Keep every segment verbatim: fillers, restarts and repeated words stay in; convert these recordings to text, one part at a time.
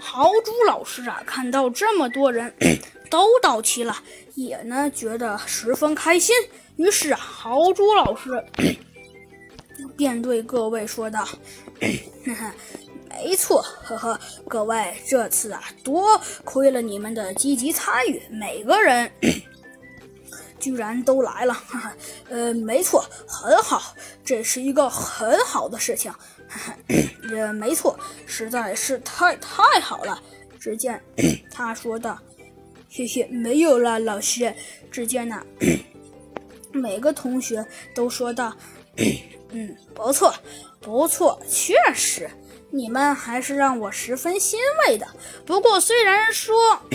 豪猪老师啊，看到这么多人都到齐了，也呢觉得十分开心。于是啊，豪猪老师便对各位说道：“没错，呵呵，各位，这次啊，多亏了你们的积极参与，每个人居然都来了。呵呵呃，没错，很好，这是一个很好的事情。呃，没错，实在是太太好了。”只见他说道：“谢谢，没有了，老师。”只见呢，每个同学都说道：“嗯，不错，不错，确实，你们还是让我十分欣慰的。不过虽然说，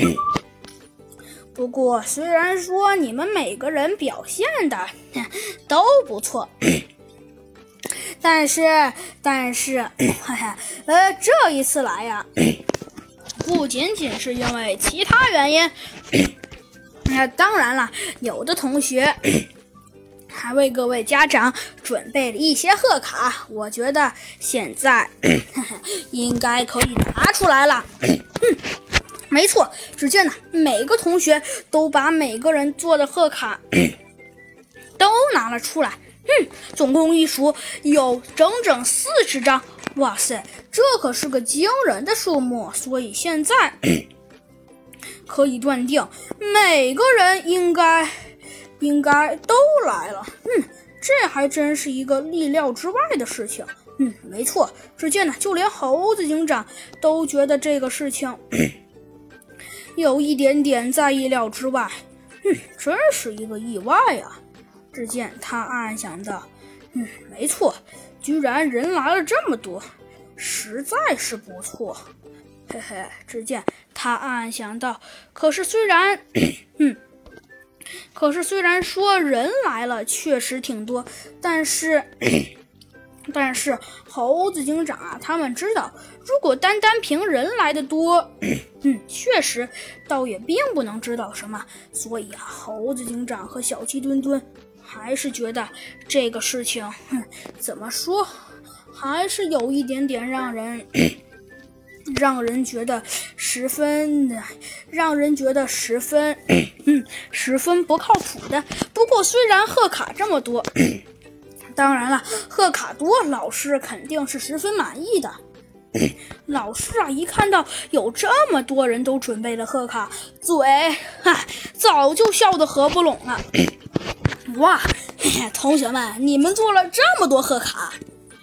不过虽然说你们每个人表现的都不错。”但是，但是，呃，这一次来呀，不仅仅是因为其他原因。那当然了，有的同学还为各位家长准备了一些贺卡，我觉得现在应该可以拿出来了。嗯，没错，只见呢，每个同学都把每个人做的贺卡都拿了出来。嗯，总共一数有整整四十张，哇塞，这可是个惊人的数目，所以现在可以断定每个人应该应该都来了。嗯，这还真是一个意料之外的事情。嗯，没错，只见呢，就连猴子警长都觉得这个事情有一点点在意料之外。嗯，真是一个意外啊。只见他暗暗想道：“嗯，没错，居然人来了这么多，实在是不错。”嘿嘿，只见他暗暗想到：“可是虽然，嗯，可是虽然说人来了确实挺多，但是，但是猴子警长啊，他们知道，如果单单凭人来的多，嗯，确实倒也并不能知道什么。所以啊，猴子警长和小鸡墩墩。”还是觉得这个事情，哼，怎么说，还是有一点点让人，让人觉得十分的，让人觉得十分，嗯，十分不靠谱的。不过虽然贺卡这么多，当然了，贺卡多，老师肯定是十分满意的。老师啊，一看到有这么多人都准备了贺卡，嘴哈早就笑得合不拢了。哇，同学们，你们做了这么多贺卡，